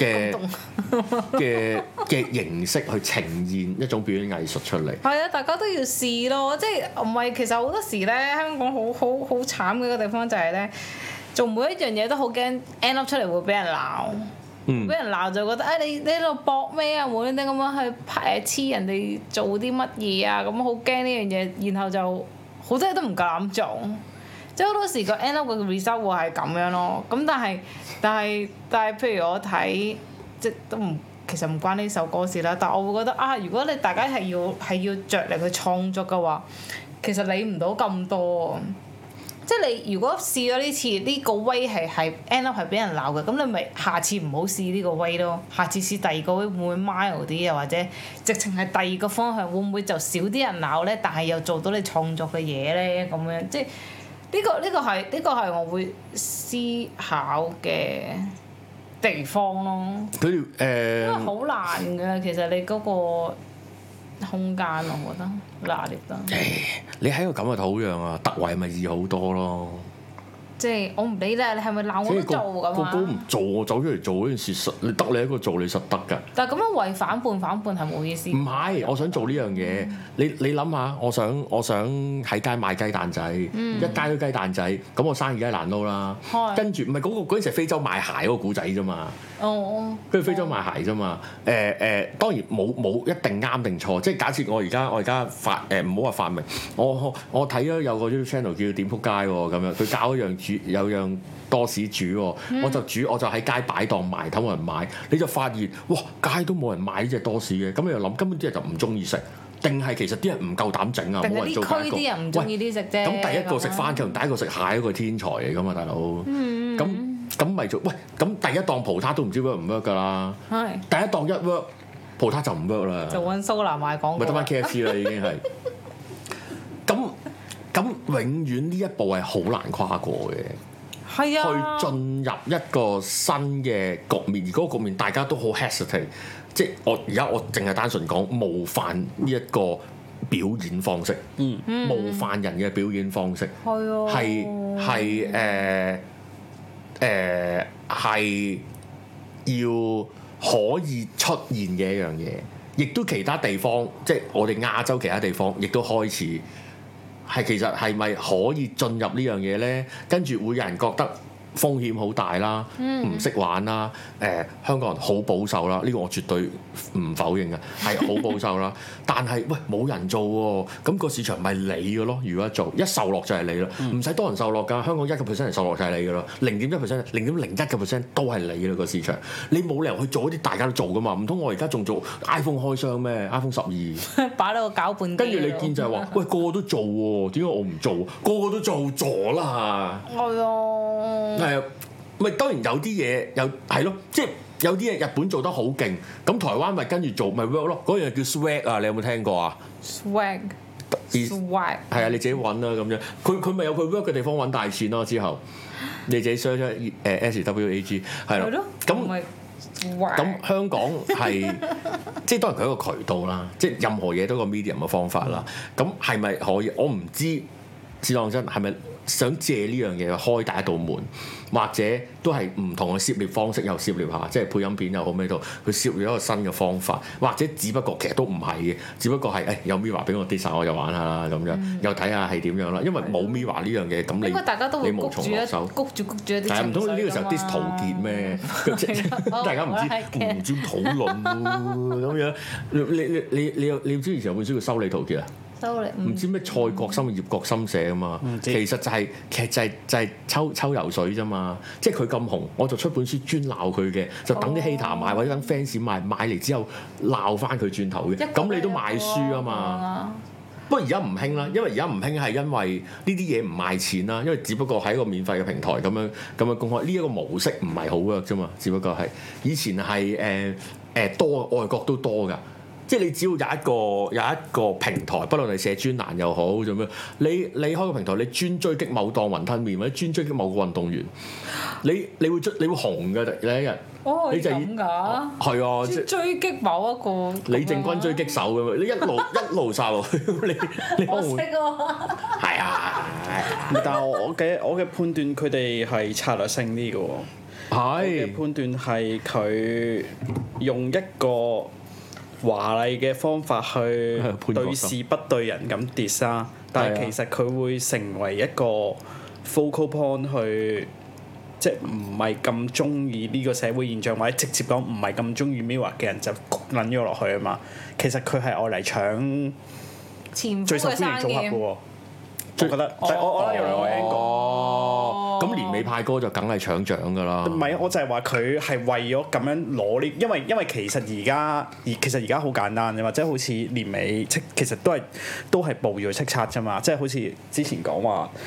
嘅形式去呈現一種表演藝術出嚟。係啊，大家都要試咯，即係唔係？其實好多時咧，香港好慘嘅一個地方就係咧，做每一樣嘢都好驚 end up 出嚟會俾人鬧。俾人鬧就覺得你喺度搏咩啊？無端端咁樣去黐人哋做啲乜嘢啊？咁好驚呢樣嘢，然後就好多嘢都唔夠膽做。即係好多時個 end up 嘅 result 會係咁樣咯，咁但係譬如我睇，即都唔其實唔關呢首歌事啦，但我會覺得啊，如果你大家係要着力去創作嘅話，其實理唔到咁多。 即係你如果試咗呢次呢個 way 係 end up 係俾人鬧嘅，咁你咪下次唔好試呢個 way 咯，下次試第二個 way 會唔會 mild 啲，又或者直情係第二個方向會唔會就少啲人鬧咧？但係又做到你創作嘅嘢咧，咁樣即係呢個係我會思考嘅地方咯。因為好難㗎，其實你嗰個空間我覺得拿捏得。 你喺個咁嘅土壤啊，突圍咪易好多咯。 即係我唔理啦，你係咪鬧我都做咁啊？ 個個唔做，我走出嚟做嗰件事實，你得你一個做，你實得㗎。 但係咁樣為反叛係冇意思。 唔係，我想做呢樣嘢。你諗下，我想喺街賣雞蛋仔，一街都雞蛋仔，咁我生意梗係難撈啦。跟住唔係嗰陣時係非洲賣鞋嗰個古仔啫嘛。跟住非洲賣鞋啫嘛。當然冇一定啱定錯。即係假設我而家唔好話發明，我睇咗有個 YouTube channel 叫點撲街喎咁樣，佢教一樣有樣多士煮喎，我就喺街擺檔賣，睇冇人買，你就發現哇街都冇人買呢隻多士嘅，咁你又諗根本啲人就唔中意食，定係其實啲人唔夠膽整啊，冇人做第一個。啲人唔中意啲食啫。咁第一個食番茄，第一個食蟹嗰個天才嚟㗎嘛，大佬。咁咪做喂？咁第一檔葡撻都唔知 work 唔 work 㗎啦。係。第一檔一 work，葡撻就唔 work 啦。 就揾蘇南賣廣告。 咪得翻 KFC 啦，已經係。咁永遠呢一步係好難跨過嘅，係啊，去進入一個新嘅局面，而嗰個局面大家都好 hesitate，即係我淨係單純講冒犯呢一個表演方式，冒犯人嘅表演方式，係要可以出現嘅一樣嘢，亦都其他地方，即係我哋亞洲其他地方，亦都開始。其實係咪可以進入呢樣嘢咧？跟住會有人覺得風險好大啦，唔識玩啦。香港人好保守啦，呢個我絕對唔否認嘅，係好保守啦。但係喂冇人做喎，咁個市場咪你嘅咯？如果一做一受落就係你啦，唔使多人受落㗎。香港1%人受落就係你㗎啦，0.1%、0.01% 都係你啦個市場。你冇理由去做一啲大家都做㗎嘛？唔通我而家仲做 iPhone 開箱咩 ？iPhone 12擺到個攪拌機。跟住你見就係話，喂個個都做喎，點解我唔做？個個都做咗啦。係啊。係啊，咪當然有啲嘢係咯，即係有啲嘢日本做得好勁，咁台灣咪跟住做咪 work 咯。嗰樣叫 swag 啊，你有冇聽過啊 ？swag 係啊，你自己揾啦咁樣。佢咪有佢 work 嘅地方揾大錢咯。之後你自己 search 出SWAG 係咯。咁香港係即係當然佢一個渠道啦，即係任何嘢都有個 medium 嘅方法啦。咁係咪可以？我唔知，試當真係咪？想借呢樣嘢去開第一道門，或者都係唔同嘅涉獵方式又涉獵下，即係配音片又好咩都，佢涉獵一個新嘅方法，或者只不過其實都唔係嘅，只不過係有 Mirror 俾我 design 我就玩下啦咁樣，又睇下係點樣啦。因為冇 Mirror 呢樣嘢，咁你無從落手，谷住一啲。係唔通呢個時候 dis 陶傑咩？大家唔知討論咁樣。你知以前有本書叫《修理陶傑》啊？唔知咩蔡國深、葉國深寫啊嘛，其實就係抽油水啫嘛，即係佢咁紅，我就出本書專鬧佢嘅，就等啲 hater 買或者等 fans 買嚟之後鬧翻佢轉頭嘅，咁你都賣書啊嘛。不過而家唔興啦，因為而家唔興係因為呢啲嘢唔賣錢啦，因為只不過喺一個免費嘅平台咁樣公開，呢一個模式唔係好 work 啫嘛，只不過係以前係多外國都多㗎。即係你只要有一個平台，不論你寫專欄又好做咩，你開個平台，你專追擊某檔雲吞麵或者專追擊某個運動員，你會紅㗎，你一日。哦，你就咁㗎？係啊，即係追擊某一個李正軍追擊手咁樣，你一路殺落去，你我識喎。係啊， 但係我嘅判斷，佢哋係策略性啲嘅喎。係。我嘅判斷係佢用一個華麗嘅方法去對事不對人咁 diss 啦，但係其實佢會成為一個 focal point 去，即係唔係咁中意呢個社會現象，或者直接講唔係咁中意 Mirror 嘅人就焗撚咗落去啊嘛。其實佢係愛嚟搶最受歡迎組合嘅喎。我覺得，我覺得有兩個 angle。 咁年尾派歌就梗係搶獎㗎啦。 唔係，我就係話佢係為咗咁樣攞呢，因為其實而家好簡單啫嘛，即係好似年尾其實都係報咗叱咤啫嘛，即係好似之前講話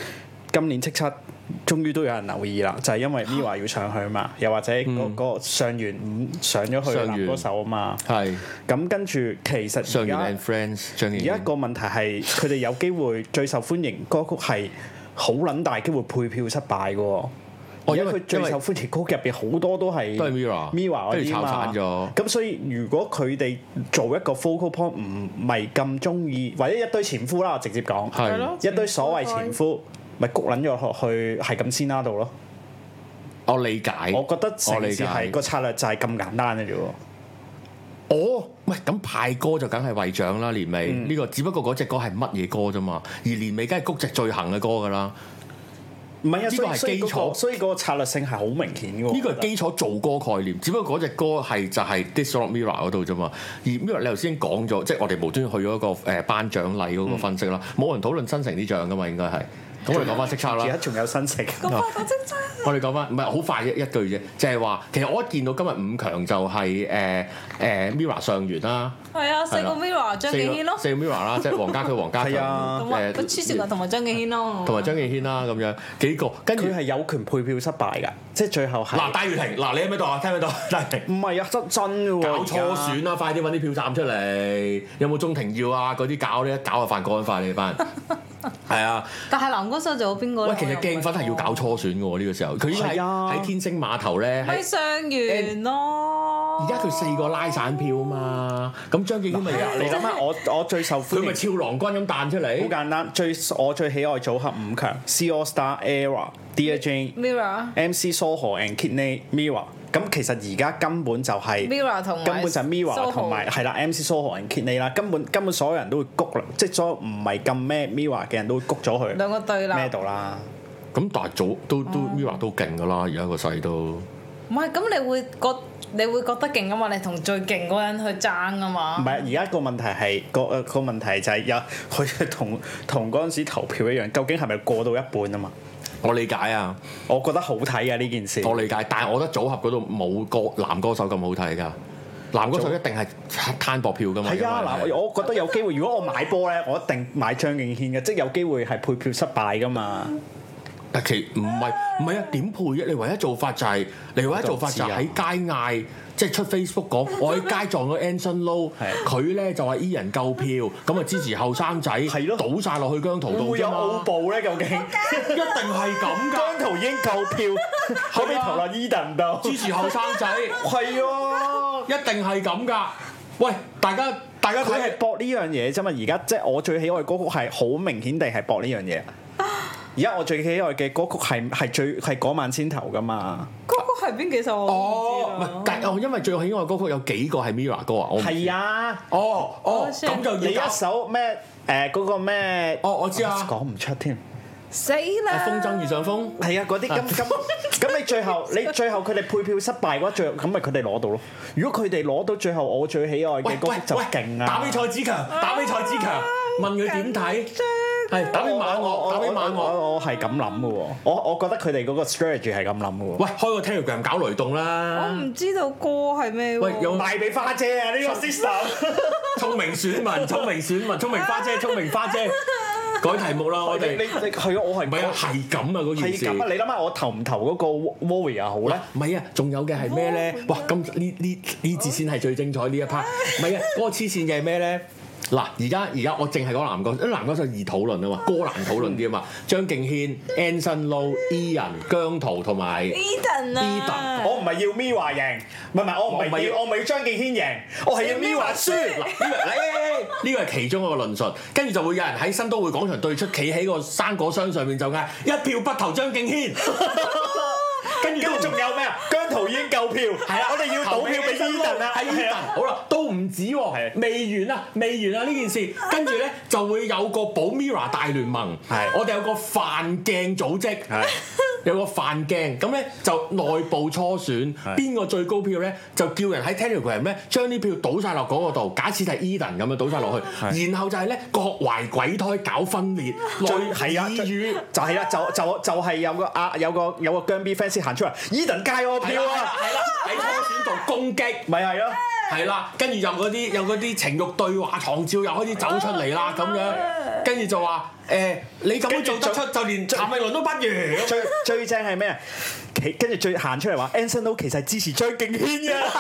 今年叱咤終於都有人留意啦，就係因為 Mirror 要上去啊嘛，又或者嗰個上元5上咗去男歌手啊嘛。係。咁跟住其實上元 and Friends 而家個問題係佢哋有機會最受歡迎歌曲係好撚大機會配票失敗嘅喎。因為佢最受歡迎歌曲入邊好多都係 Mirror 嗰啲嘛，咁所以如果佢哋做一個 focal point 唔係咁中意，或者一堆前夫啦，我直接講，一堆所謂前夫，咪谷撚咗落去係咁先啦度咯。 我理解， 我覺得成件事係個策略就係咁簡單嘅啫喎。 哦，喂，咁派歌就梗係為獎啦，年尾呢個只不過嗰隻歌係乜嘢歌啫嘛，而年尾梗係谷隻最行嘅歌㗎啦。 唔係啊，呢個係基礎，所以嗰個策略性係好明顯嘅喎。 呢個係基礎做歌概念，只不過嗰隻歌係就係 This Rock Mirror 嗰度啫嘛。而 Mirror 你頭先講咗，即係我哋無端去咗一個頒獎禮嗰個分析啦，冇人討論新城啲獎㗎嘛，應該係。咁我哋講翻叱咤啦。 而家仲有新城。 咁快講叱咤。 我哋講翻，唔係好快一句啫，就係話其實我一見到今日5強就係Mirror 上完啦。 係啊，4個 Mirror 張敬軒咯。 4個 Mirror 啦，即係黃家駒、黃家強黐線同埋張敬軒咯。 同埋張敬軒啦，咁樣幾個，跟住佢係有權配票失敗㗎，即係最後係。 嗱，戴月婷，嗱你喺邊度啊？聽唔聽到？戴月婷。唔係啊，真嘅喎。 搞初選啦，快啲揾啲票站出嚟。有冇鍾庭耀啊？嗰啲搞呢？搞就犯國安法你班人。係啊。 但係男歌手仲有邊個咧？ 喂，其實鏡粉係要搞初選嘅喎，呢個時候佢已經喺天星碼頭咧。 咪上完咯。 而家佢4個拉散票啊嘛，咁張敬軒咪你諗下，我最受歡迎， 佢咪俏郎君咁彈出嚟。 好簡單，我最喜愛組合5強 C AllStar Era、Dear Jane、MC Soho and Kidney Mirror。咁其實而家根本就係根本就係 Mirror 同埋係啦 MC Soho and Kidney 啦，根本所有人都會谷啦，即係所有唔係咁咩 Mirror 嘅人都會谷咗佢兩個對啦咩度啦。 咁但係都 Mirror 都勁㗎啦，而家個勢都。 唔係，咁你會覺得勁啊嘛？你同最勁嗰人去爭啊嘛？ 唔係，而家個問題係個問題就係有佢同嗰陣時投票一樣，究竟係咪過到一半啊嘛？ 我理解啊， 我覺得好睇啊呢件事。 我理解，但係我覺得組合嗰度冇男歌手咁好睇㗎。男歌手一定係攤薄票㗎嘛。係啊， 嗱，我覺得有機會。如果我買波咧，我一定買張敬軒嘅，即係有機會係配票失敗㗎嘛。 但其唔係啊？點配啫？你唯一做法就係喺街嗌，即係出 Facebook 講，我喺街撞咗 Anson Lo， 佢咧就話 E 人夠票，咁啊支持後生仔，倒晒落去姜濤度啫嘛。會有奧步咧？究竟一定係咁㗎？ 姜濤已經夠票，後尾投落 Eden 度， 支持後生仔。係啊，一定係咁㗎。喂，大家佢係搏呢樣嘢啫嘛。而家即係我最喜愛嘅歌曲係好明顯地係搏呢樣嘢。而家我最喜愛嘅歌曲係嗰晚先頭㗎嘛？ 歌曲係邊幾首我唔知啦。 但係因為最喜愛歌曲有幾個係 Mirror 歌啊？ 係啊。 咁就你一首咩嗰個咩？ 我知啊。 講唔出添。 死啦！ 風箏遇上風。 係啊，嗰啲咁你最後佢哋配票失敗嘅話，咁咪佢哋攞到咯。如果佢哋攞到最後我最喜愛嘅歌曲就勁啊！ 打比賽之強，問佢點睇？係打俾馬我係咁諗嘅喎，我覺得佢哋嗰個 strategy 係咁諗嘅喎。 喂，開個 Telegram 搞雷動啦！ 我唔知道歌係咩喎。 喂，有賣俾花姐啊！呢個 system。 聰明選民，聰明花姐，改題目啦！我哋你係啊，我係唔係啊？ 係咁啊！嗰件事係咁啊！ 你諗下，我投唔投嗰個 Warrior 好咧？ 唔係啊，仲有嘅係咩咧？哇！咁呢節先係最精彩呢一 part。唔係啊，嗰個黐線嘅係咩咧？嗱，而家我淨係講男歌手，因為男歌手易討論啊嘛，歌難討論啲啊嘛。張敬軒、Anson Lo、E 人、姜濤同埋 Eden 啊， 我唔係要 Mirror 贏，我唔係要張敬軒贏，我係要 Mirror 輸。 呢個係其中一個論述，跟住就會有人喺新都會廣場對出，企喺個生果箱上面就嗌一票不投張敬軒。跟住仲有咩啊？姜濤已經夠票，係啦，我哋要賭票俾 Eden 啊， 係 Eden。好啦，都唔止喎，未完啊呢件事，跟住咧就會有個保 Mirror 大聯盟，我哋有個飯鏡組織，有個飯鏡，咁咧就內部初選，邊個最高票咧就叫人喺 Telegram 咧將啲票倒晒落嗰個度，假設係 Eden 咁樣倒晒落去，然後就係咧各懷鬼胎搞分裂，係啊，就係啦，就係有個姜 B fans 行出嚟 ，Eden 戒我票啊， 係啦， 喺初選度攻擊， 咪係咯。 係啦，跟住有嗰啲情慾對話床照又開始走出嚟啦，咁樣，跟住就話你咁樣做得出，就連譚詠麟都不如。 最正係咩啊？跟住最行出嚟話 Anson Lo 其實係支持張敬軒嘅。係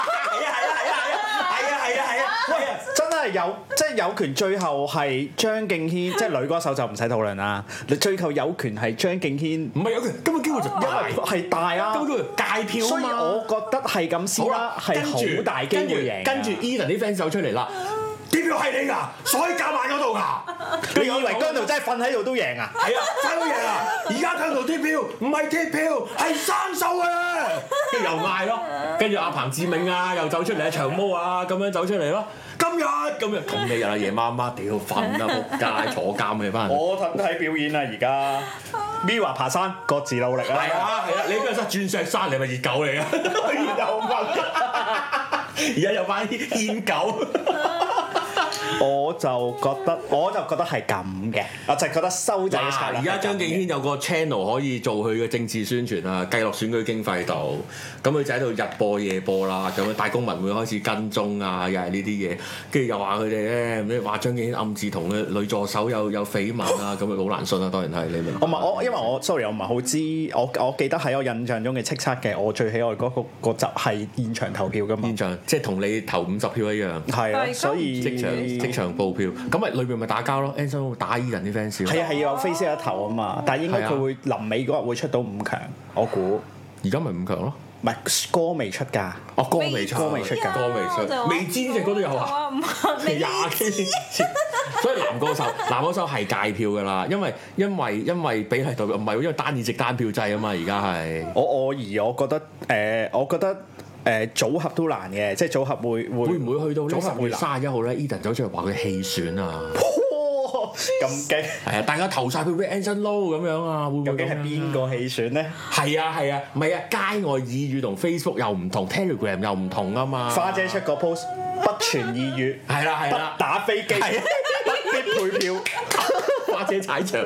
啊！真係有，即係有權最後係張敬軒，即係女歌手就唔使討論啦。你最後有權係張敬軒， 唔係有權，根本機會就係大啊， 根本叫界票啊嘛。所以我覺得係咁先啦，係好大機會贏。 跟住 Edan 啲 fans 走出嚟啦，啲票係你㗎，所以夾埋嗰度㗎。 你以為姜濤真係瞓喺度都贏啊？ 係啊，真係贏啊！而家姜濤貼票唔係貼票，係生數啊！跟住又嗌咯，跟住阿彭志銘啊又走出嚟，長毛啊咁樣走出嚟咯。今日咁樣同你日啊夜媽媽屌瞓啊仆街坐監嘅班人。 我睇表演啦而家 Mirror 爬山各自努力啊！ 係啊，你邊個山鑽石山？你係咪熱狗嚟啊？熱狗瞓，而家有班牽狗。 我就覺得係咁嘅，我就覺得收仔嘅策略。 而家張敬軒有個 channel 可以做佢嘅政治宣傳啊，計落選舉經費度，咁佢就喺度日播夜播啦，咁樣大公民會開始跟蹤啊，又係呢啲嘢，跟住又話佢哋咧，咩話張敬軒暗自同嘅女助手有緋聞啊，咁啊好難信啊，當然係你明。 因為我 sorry 我唔係好知，我記得喺我印象中嘅叱咤嘅我最喜愛嗰個集係現場投票㗎嘛。 現場即係同你投50票一樣。係啊，所以即場報票，咁咪裏邊咪打交咯 Anson Lo 打 Edan 啲 fans。 係啊，要有飛先一頭啊嘛，但係應該佢會臨尾嗰日會出到5強，我估。 而家咪5強咯。 唔係歌未出㗎。 哦，歌未出，歌未出，未知呢隻歌都有啊。廿幾，所以男歌手係界票㗎啦，因為比例代表唔係，因為單議席單票制啊嘛，而家係。我覺得組合都難嘅，即係組合會唔會去到10月31號咧 Edan 走出嚟話佢棄選啊！咁勁係啊！大家投晒票俾 Anson Lo 咁樣啊，會唔會？究竟係邊個棄選咧？係啊，唔係啊，街外耳語同 Facebook 又唔同 ，Telegram 又唔同啊嘛。花姐出個 post 不傳耳語，係啦，不打飛機，不必配票，花姐踩場，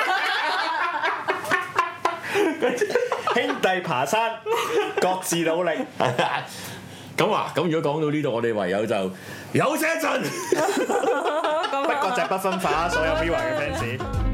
兄弟爬山，各自努力。咁如果講到呢度，我哋唯有就休息一陣。不過就不分化所有 Mirror 嘅 fans。